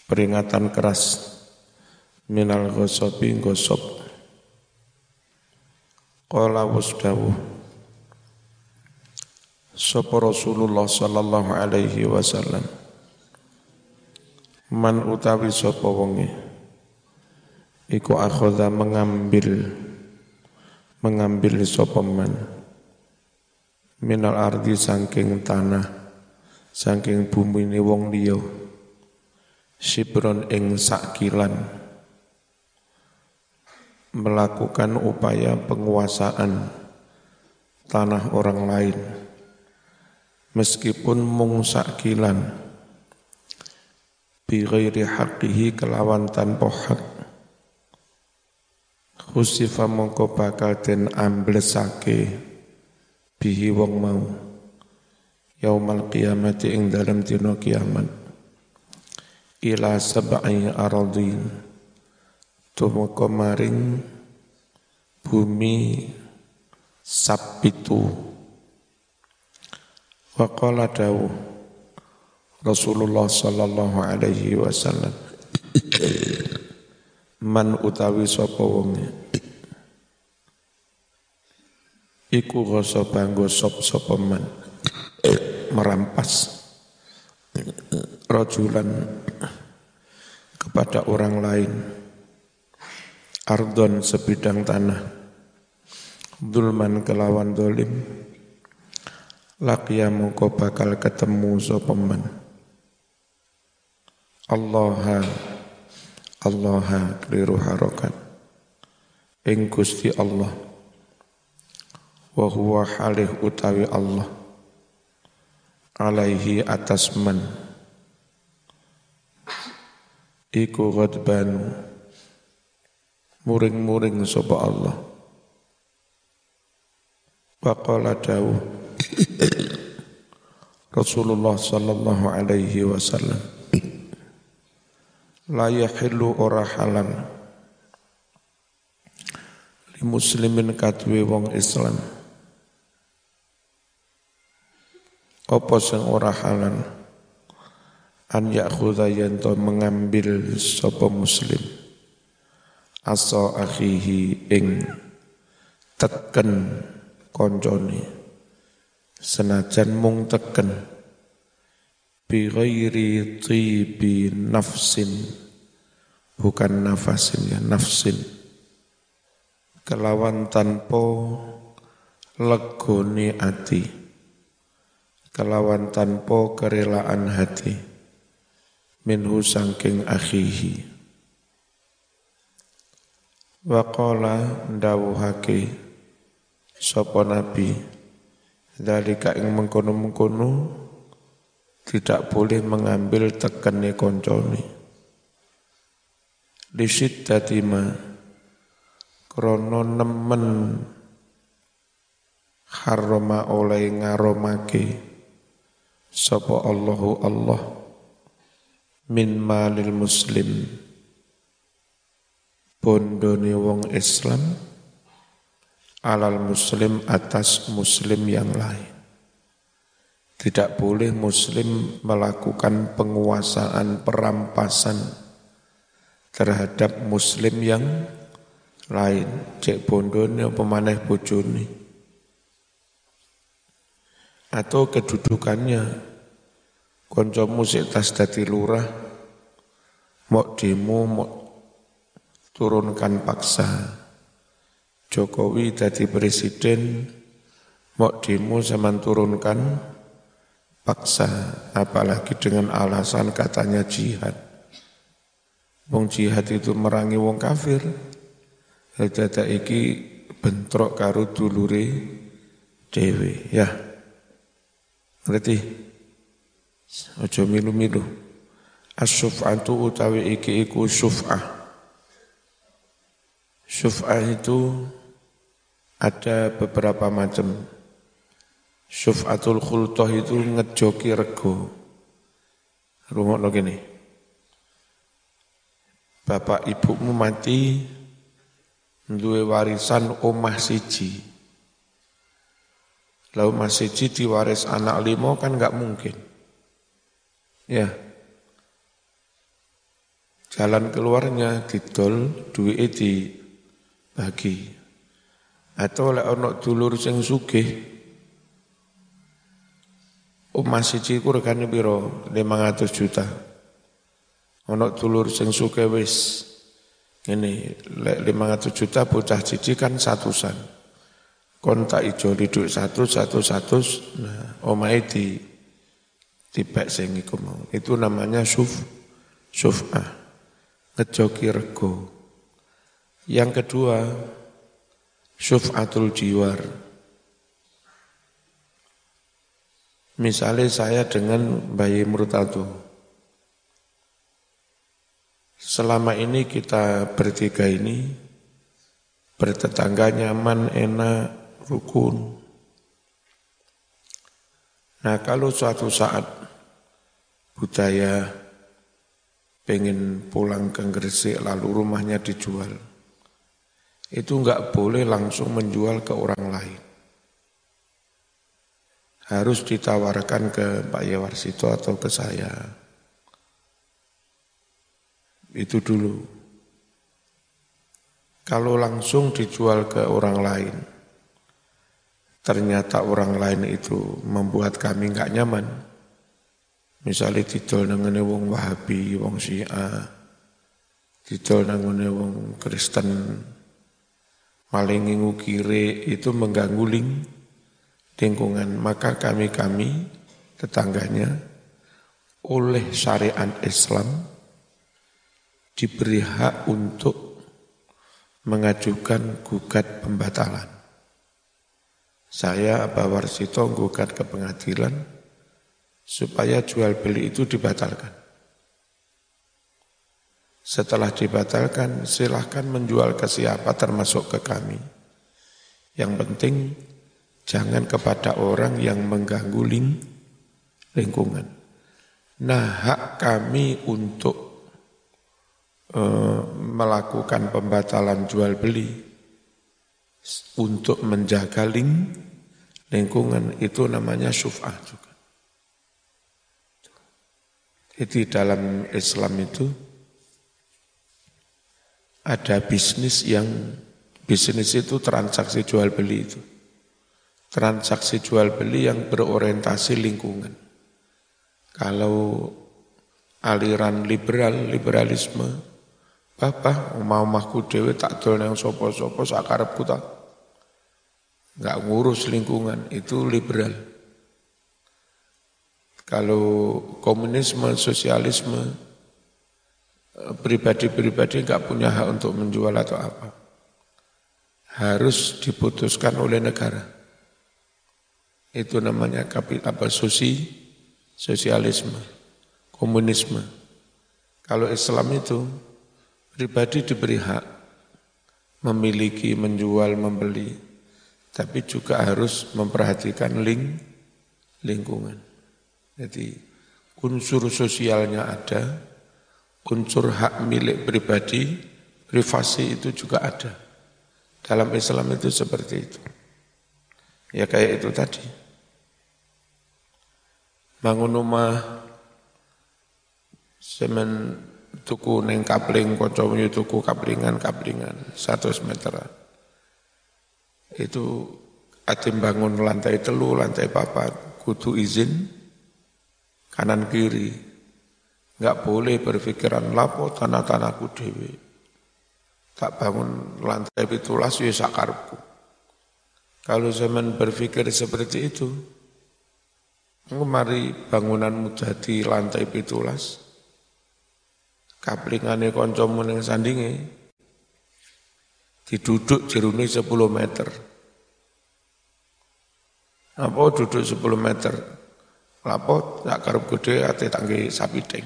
peringatan keras minal ghasabi gosop. Qala wasdawu sapa Rasulullah sallallahu alaihi wasallam, man utawi sapa wonge iku akhadha mengambil sapa man minal ardi saking tanah saking bumi ni wong liya sibron ing sakilan, melakukan upaya penguasaan tanah orang lain meskipun mung sakilan bi ghairi haqqihi kelawan tanpa hak, khusifa mongko bakal den amblesake bihi wong mau yaumal qiyamati ing dalam dina kiamat ila sab'i aradin tumeka maring bumi sabitu. Wa qala dawu Rasulullah sallallahu alaihi wasallam, man utawi sapa wonge iku ghasaba gosop sapa man merampas rajulan kepada orang lain ardon sebidang tanah dzulman kelawan dolim laqiya mongko bakal ketemu sapa man Allah keliru harokat ing Gusti Allah wa huwa halih utawi Allah alaihi atas man iku ghadbanu muring-muring sapa Allah. Wa qala dawuh Rasulullah sallallahu alaihi wasallam, la yahillu ora halal li muslimin kadwe wong Islam apa sing ora halal an ya'khudha yanto mengambil sapa muslim asa akhihi ing teken koncone senajan mung teken bi ghairi tibi nafsin, bukan nafasin ya, nafsin, kelawan tanpa legone ati, kelawan tanpa kerelaan hati, minhu sangking akhihi. Wa qala ndawuhake sapa nabi dalika ing mengkono-mengkono tidak boleh mengambil tekene koncone lisyidati ma krana nemen harama oleh ngaromake sapa Allahu Allah min malil muslim bondone wong Islam alal muslim atas muslim yang lain. Tidak boleh muslim melakukan penguasaan perampasan terhadap muslim yang lain. Cek bondone apa maneh bojone. Atau kedudukannya kancamu sik tas dadi lurah mok demo mok turunkan paksa. Jokowi dadi presiden mok demo zaman turunkan paksa, apalagi dengan alasan katanya jihad. Wong jihad itu merangi wong kafir. Dada iki bentrok karo dulure dhewe, ya. Ngerti? Aja milu-milu. As-syuf'atu utawi iki iku syuf'ah. Syuf'ah itu ada beberapa macam. Syuf'atul khultoh itu ngejoki rego. Rungokno gini. Bapak ibumu mati, duwe warisan omah siji. Lalu omah siji diwaris anak 5 kan enggak mungkin. Ya. Jalan keluarnya didol, duwike dibagi. Atau lek ana dulur sing sugih, omah siji ku regane pira? 500 juta. Ana dulur sing sugih wis ngene, lek 500 juta bocah siji kan 100-an. Kon tak ijo duit 100, nah omahe dibek sing iku mau. Itu namanya syuf'ah. Ngejoki rego. Yang kedua, syuf'atul jiwar. Misalnya saya dengan Bayi Murtado. Selama ini kita bertiga ini bertetangga nyaman, enak, rukun. Nah kalau suatu saat budaya pengen pulang ke Gresik lalu rumahnya dijual, itu enggak boleh langsung menjual ke orang lain. Harus ditawarkan ke Pak Yawarsito atau ke saya. Itu dulu. Kalau langsung dijual ke orang lain, ternyata orang lain itu membuat kami enggak nyaman. Misalnya didol nangane wong Wahabi, wong Syiah, didol nangane wong Kristen, maling ngukire, itu mengganggu lingkungan. Maka kami tetangganya oleh syariat Islam diberi hak untuk mengajukan gugat pembatalan. Saya Pak Warsito gugat ke pengadilan supaya jual beli itu dibatalkan. Setelah dibatalkan, silahkan menjual ke siapa termasuk ke kami. Yang penting jangan kepada orang yang mengganggu lingkungan. Nah, hak kami untuk melakukan pembatalan jual beli untuk menjaga lingkungan itu namanya syuf'ah juga. Jadi dalam Islam itu ada bisnis itu transaksi jual beli itu. Transaksi jual beli yang berorientasi lingkungan. Kalau aliran liberalisme, Bapak mau mahku dewe tak dol nang sapa-sapa sakarepku tak. Enggak ngurus lingkungan, itu liberal. Kalau komunisme, sosialisme, pribadi-pribadi enggak punya hak untuk menjual atau apa. Harus diputuskan oleh negara. Itu namanya sosialisme, komunisme. Kalau Islam itu pribadi diberi hak memiliki, menjual, membeli, tapi juga harus memperhatikan lingkungan. Jadi unsur sosialnya ada, unsur hak milik pribadi, privasi itu juga ada. Dalam Islam itu seperti itu. Ya kayak itu tadi. Bangun rumah, semen tuku neng kapling, kocoknya tuku kaplingan 100 meteran. Itu atim bangun lantai 3, lantai 4, kudu izin kanan kiri. Enggak boleh berpikiran lapo tanah-tanahku dewe. Tak bangun lantai 17 ya sakarepku. Kalau zaman berpikir seperti itu, mari bangunanmu jadi lantai 17, kaplingane kancamu ning sandinge diduduk jerune 10 meter. Apa duduk 10 meter? Lapo tak karep gede ate tangge sapi deng.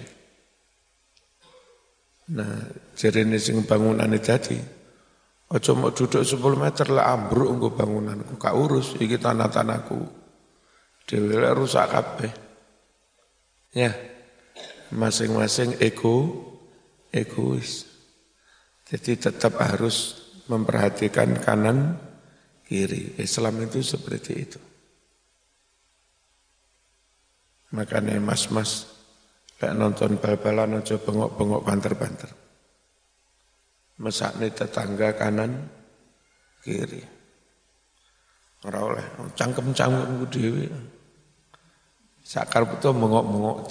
Nah, jerene sing bangunane dadi aja mau duduk 10 meter lah ambruk engko bangunanku, gak urus iki tanah-tanahku. Dhewe rusak kabeh. Ya. Masing-masing egois. Jadi tetap harus memperhatikan kanan kiri. Islam itu seperti itu. Makanya mas-mas Lek nonton bal-balan aja bengok-bengok banter-banter. Mesakne tetangga kanan kiri. Ora oleh cangkem-cangkemku dhewe. Sakar betul bengok-bengok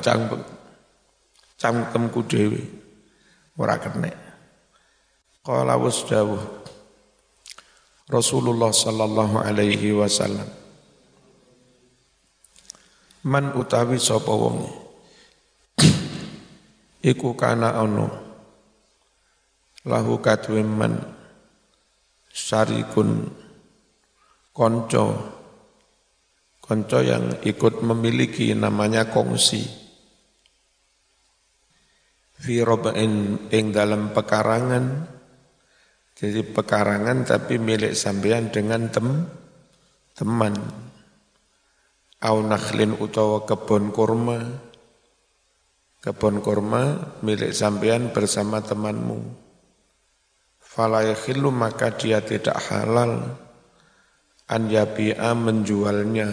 cangkemku dhewe. Ora kenek. Qala wasdawuh Rasulullah sallallahu alaihi wasallam. Man utawi sapa wong iku kana ana lahu kadwe man syarikun konco yang ikut memiliki namanya kongsi fi robain ing dalam pekarangan, jadi pekarangan tapi milik sampean dengan teman au nakhlin utawa kebun kurma milik sampean bersama temanmu. Fala yakhillu maka dia tidak halal an yabi'a menjualnya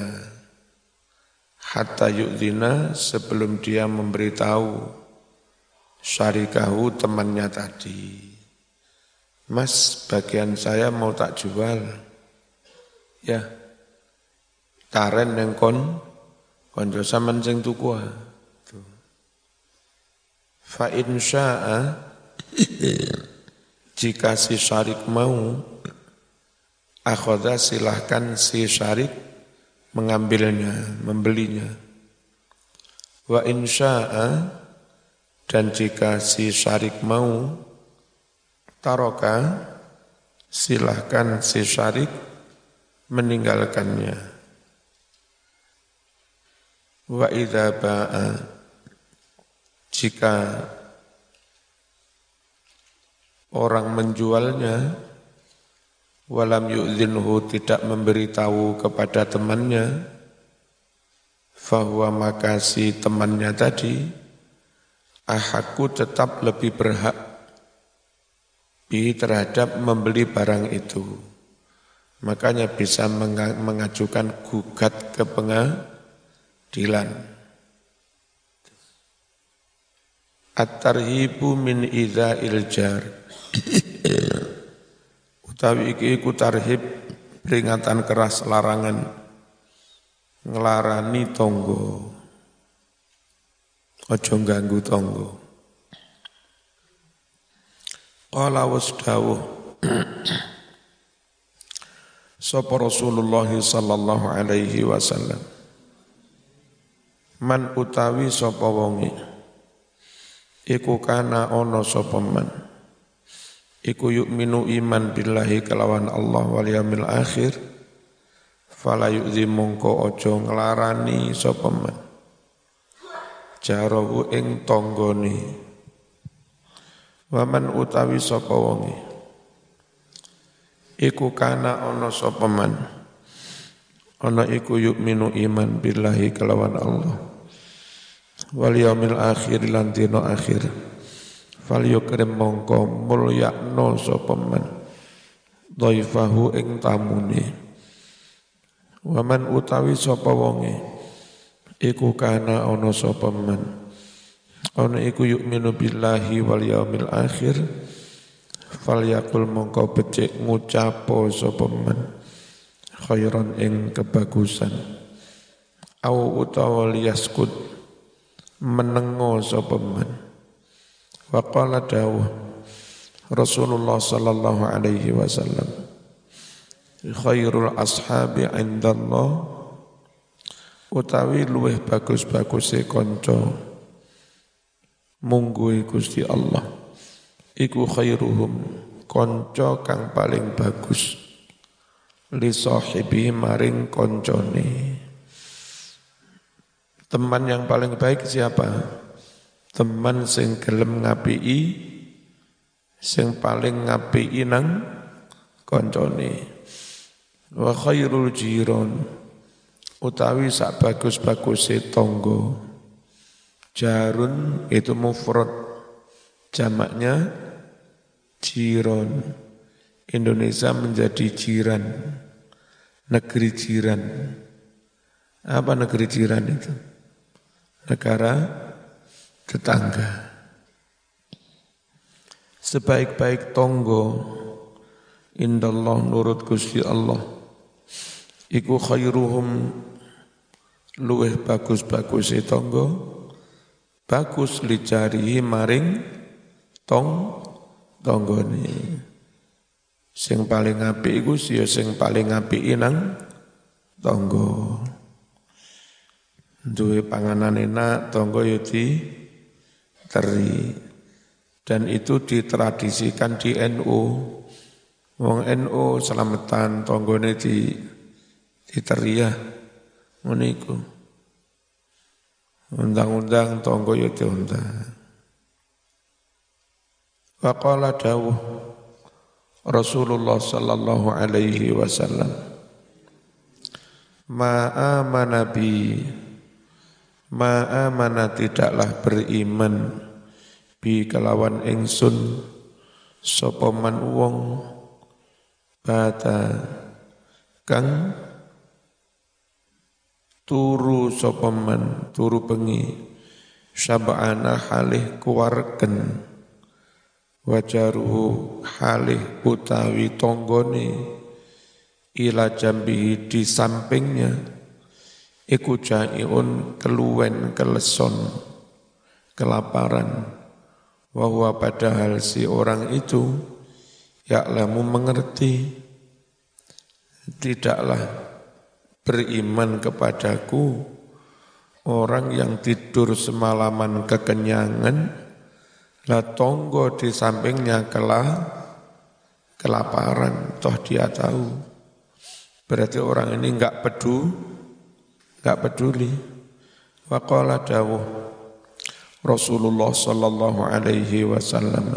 hatta yu'dzina sebelum dia memberitahu syarikahu temannya tadi. Mas, bagian saya mau tak jual. Ya. Taren yang konco sampean sing tuku. Fa in syaa jika si syarik mau akhadha silahkan si syarik mengambilnya, membelinya. Wa in syaa dan jika si syarik mau taroka silahkan si syarik meninggalkannya. Wa idza ba'a jika orang menjualnya walam yu'dzinhu tidak memberitahu kepada temannya fahuwa maka si temannya tadi ahakku tetap lebih berhak terhadap membeli barang itu. Makanya bisa mengajukan gugat ke pengadilan. At-tarhibu min idza'il jar. Utawi iki iku tarhib peringatan keras larangan nglarani tangga. Aja ganggu tangga. Qala wasdawuh sapa Rasulullah sallallahu alaihi wasallam. Man utawi sapa wonge iku kana ana sapa man iku yu'minu iman billahi kelawan Allah wal yaumil akhir fala yu'zi mongko aja nglarani sapa man jarahu ing tanggane waman utawi sapa wonge iku kana ana sapa man ana iku yu'minu iman billahi kelawan Allah wal yaumil akhir lan dina akhir fal yukrim mongko mulyakno sapa man dhaifahu ing tamune waman utawi sapa wonge iku kana ana sapa man ana iku yu'minu billahi wal yaumil akhir fal yaqul mongko becik ngucapo sapa man khairan ing kebagusan au utawa liyaskut menengo sapa man wa qala dawuh Rasulullah sallallahu alaihi wasallam khairul ashabi indallah utawi luweh bagus-baguse kanca mungguhe Gusti Allah iku khairuhum kanca kang paling bagus li sahibi maring kancane. Teman yang paling baik siapa? Teman sing gelem ngapiki, sing paling ngapiki nang kancane. Wa khairul jiron utawi sak bagus-baguse tangga. Jarun itu mufrad, jamaknya jiron. Indonesia menjadi jiran, negeri jiran. Apa negeri jiran itu? Negara tetangga. Sebaik-baik tonggo indallah nurut Gusti Allah iku khairuhum luweh bagus-bagus tonggo bagus lijarihi maring tonggone. Sing paling apik iku ya sing paling apik nang tonggo. Duwe panganan enak tonggo ya diteri. Dan itu ditradisikan di NU. Wong NU selamatan tonggone diteri ya. Ngono iku. Undang-undang tonggo ya diundang. Wa qala dawuh Rasulullah sallallahu alaihi wasallam ma amana tidaklah beriman bi kelawan ingsun sapa man wong bata kang turu sapa man turu bengi sab'ana halih kuwarken wajaruhu halih utawi tonggone ila jambihi di sampingnya iku jaiun keluwen keleson kelaparan wa huwa padahal si orang itu ya'lamu mengerti tidaklah beriman kepadaku orang yang tidur semalaman kekenyangan lah tonggo di sampingnya kelaparan toh dia tahu berarti orang ini enggak peduli wa qala dawuh Rasulullah sallallahu alaihi wasallam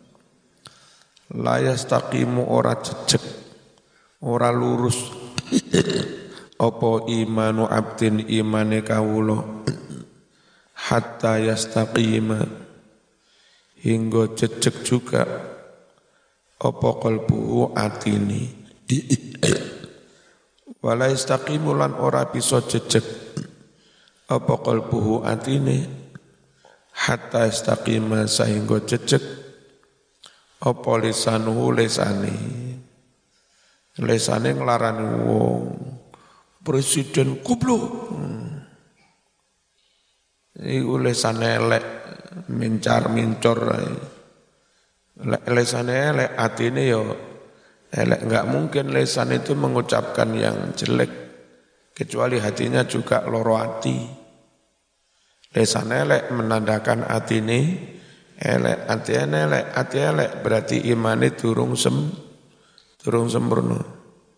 la yastaqimu ora jejeg ora lurus apa imanu abdin imane kawula hatta yastaqima hingga jejeg juga apa qalbuhu atini wala yastaqimu lan ora bisa jejeg apa qalbuhu atine hatta istaqima sehingga jejeg apa lisanuhu lesane nglarani wong presiden goblok iku lesane elek mincor lesane elek atine yo elek enggak mungkin lesan itu mengucapkan yang jelek kecuali hatinya juga loro hati. Lesan elek menandakan atine elek, ati elek berarti imane durung sempurna.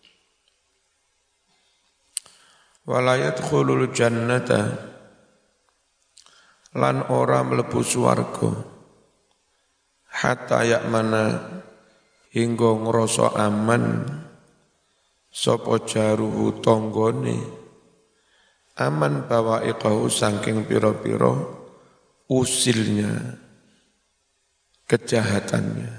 Wala yadkhulul jannata lan ora mlebu swarga hatta ya'mana hingga ngrasa aman sapa jaruhu tonggone aman bawa'iqahu saking pira-pira usilnya kejahatannya.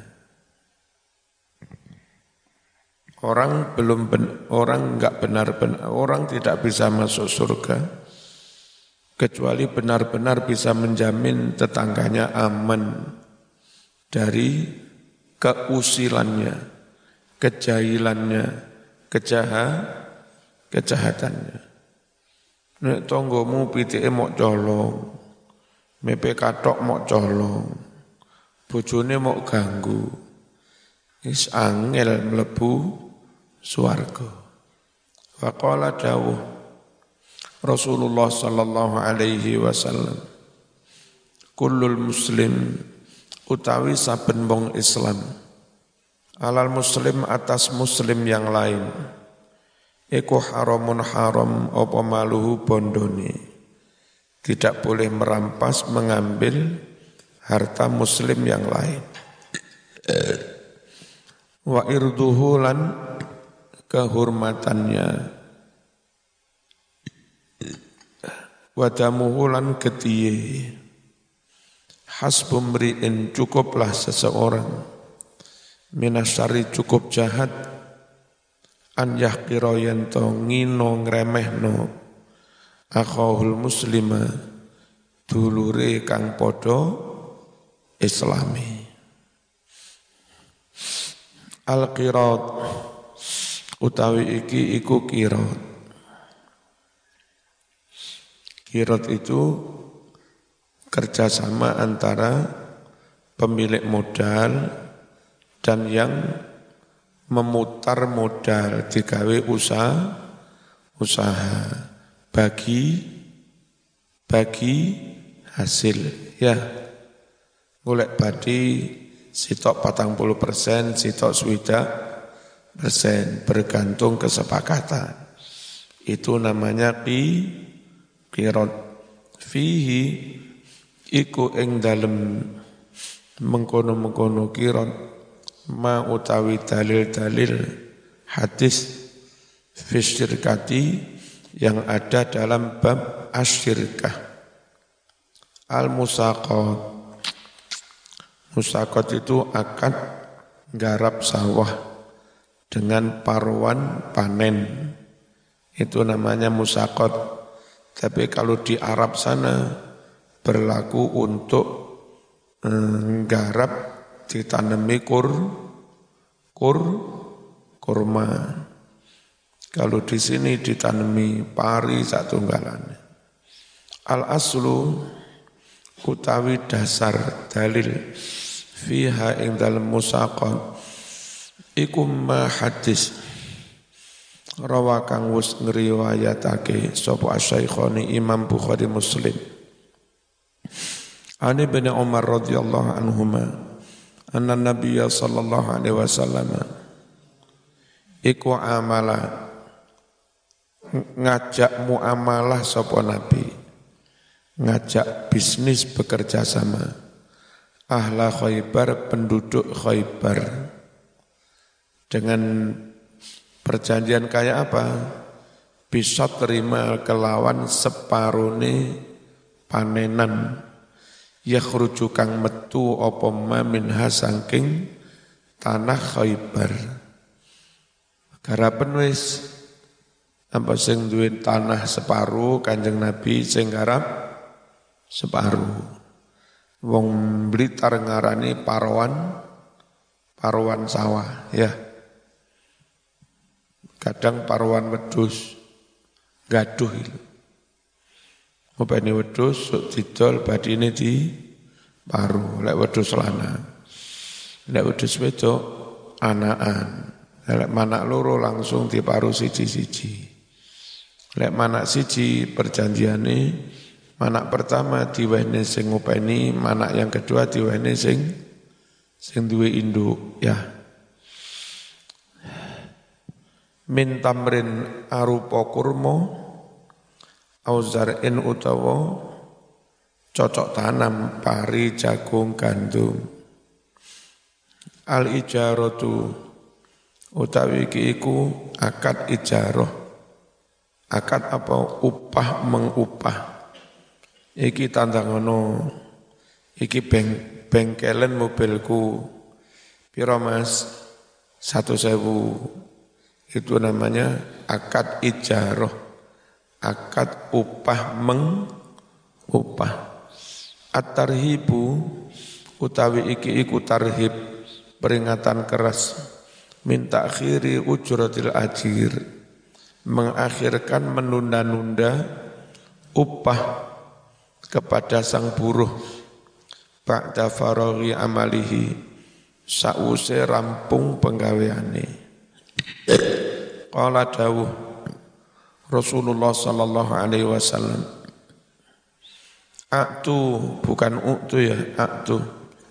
Orang enggak benar-benar orang tidak bisa masuk surga kecuali benar-benar bisa menjamin tetangganya aman dari keusilannya, kejahilannya, kejahatannya. Nek tonggomu pitike mok colong, mepe kathok mok colong, bojone mok ganggu, wis angel mlebu swarga. Faqala dawuh Rasulullah sallallahu alaihi wasallam, kullul muslim utawi saben wong Islam, alal muslim atas muslim yang lain. Iku haramun haram apa maluhu bondone. Tidak boleh merampas mengambil harta muslim yang lain. Wa irduhu lan kehormatannya. Wa damuhu lan ketiye. Hasbum ri'in cukuplah seseorang. Minasyari cukup jahat. An yahqira yanto ngino ngremehno akhahul muslima dulure kang padha islami. Al-qirat utawi iki iku qirat. Qirat itu kerjasama antara pemilik modal dan yang memutar modal digawe usaha bagi hasil ya. Golek badi sitok 40%, sitok 20% bergantung kesepakatan. Itu namanya qirat. Fihi iku ing dalem mengkono-mengkono qirat ma utawi dalil-dalil hadis fi syirkati yang ada dalam bab asyirkah. Al-musaqat. Musaqat itu akad garap sawah dengan paruan panen. Itu namanya musaqat. Tapi kalau di Arab sana berlaku untuk garap ditanami kurma. Kalau di sini ditanami pari satunggalannya. Al-aslu utawi dasar dalil fiha ing dalem musaqat iku ma hadis rawa kang wis ngriwayatake sapa asy-Syaikhani Imam Bukhari Muslim. Ani bin Umar radhiyallahu anhuma anna Nabiyya sallallahu alaihi wasallam iku amala ngajak muamalah sapa Nabi, ngajak bisnis bekerja sama ahla Khaybar, penduduk Khaybar, dengan perjanjian kayak apa? Bisa terima kelawan separone panenan yakhruju kang metu apa ma minha saking tanah Khaybar. Garapen wis apa sing duwe tanah separuh Kanjeng Nabi sing garap separuh. Wong Blitar ngarani paruan sawah ya. Kadang paruan wedhus gaduh itu. Opene wedhus sok didol badine di paruh, lek wedhus lanang. Lek wedhus wedok anakan. Lek manak loro langsung diparuh siji-siji. Lek manak siji perjanjiane manak pertama diwehne sing ngopeni, manak yang kedua diwehne sing duwe induk ya. Min tamrin arupa kurma auzarin utawa cocok tanam pari jagung gandum. Al ijaratu utawi iki iku akad ijarah. Akad apa? Upah mengupah. Iki tandangono, iki bengkelen mobilku. Piro Mas? 1.000. Itu namanya akad ijarah. Akad upah mengupah. At-tarhibu utawi iki iku tarhib, peringatan keras. Min ta'khiri ujratil ajir. Mengakhirkan menunda-nunda upah kepada sang buruh ba'da faraghi amalihi sa'use rampung penggaweane. Qala dawuh Rasulullah sallallahu alaihi wasallam, aktu bukan uktu ya, aktu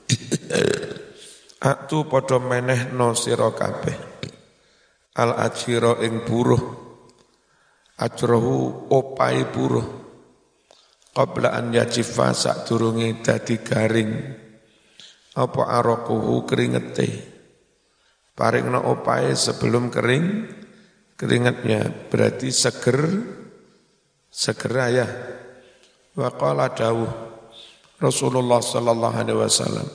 aktu padha menehno sira kabeh al ajira ing buruh ajrohu opai buruh qabla an yajifa sadurunge dadi garing apa araquhu keringete, paringna opae sebelum keringatnya berarti segera ya. Wa qala dawuh Rasulullah sallallahu alaihi wasallam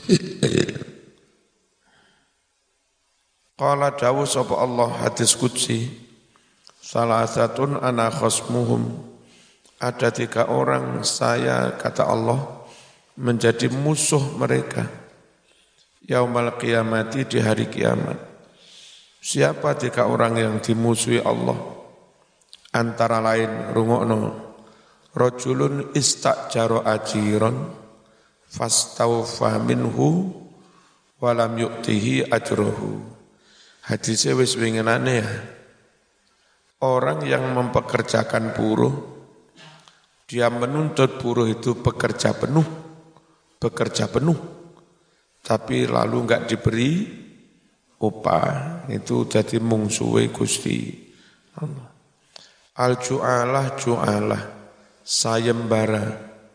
qala dawuh sapa Allah hadis qudsi salasatun ana khasmuhum ada 3 orang saya, kata Allah, menjadi musuh mereka. Yaumal qiyamati, di hari kiamat. Siapa 3 orang yang dimusuhi Allah? Antara lain, rungokno, rajulun istajaro ajiron fastawfa minhu walam yu'tihi ajrohu. Hadisnya wis winginane ya. Orang yang mempekerjakan buruh, dia menuntut buruh itu bekerja penuh, tapi lalu enggak diberi upah, itu jadi mungsuhe Gusti Allah. Al-ju'alah, sayembara.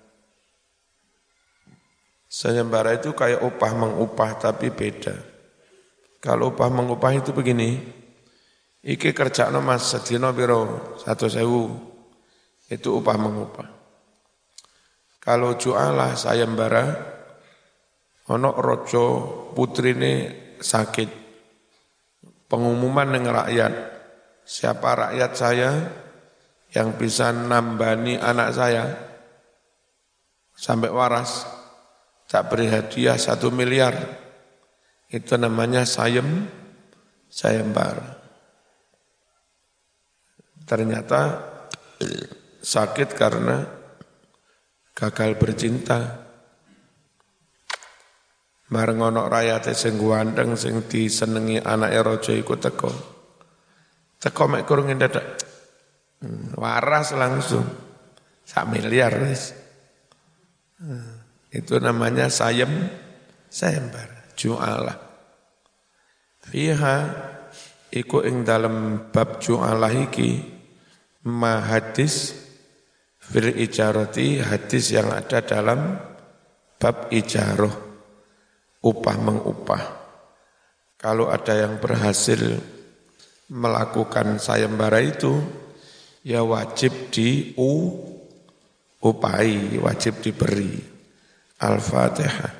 Sayembara itu kayak upah mengupah tapi beda. Kalau upah mengupah itu begini, iki kerjaan mas sedina piro 100.000, itu upah mengupah. Kalau jualah sayembara, ono rojo putrine sakit, pengumuman dengan rakyat, siapa rakyat saya yang bisa nambani anak saya sampai waras, tak beri hadiah 1 miliar. Itu namanya sayembara. Ternyata sakit karena gagal bercinta. Bareng ana rakyate sing ganteng sing disenengi anake raja iku teko. Teko mek kurang dadak. Waras langsung. 1 miliar wis. Itu namanya sayembara. Ju'alah. Fiha iku ing dalam bab ju'alah iki ma hadis fil ijarati, hadis yang ada dalam bab ijarah, upah mengupah. Kalau ada yang berhasil melakukan sayembara itu, ya wajib diupahi, wajib diberi. Al-Fatihah.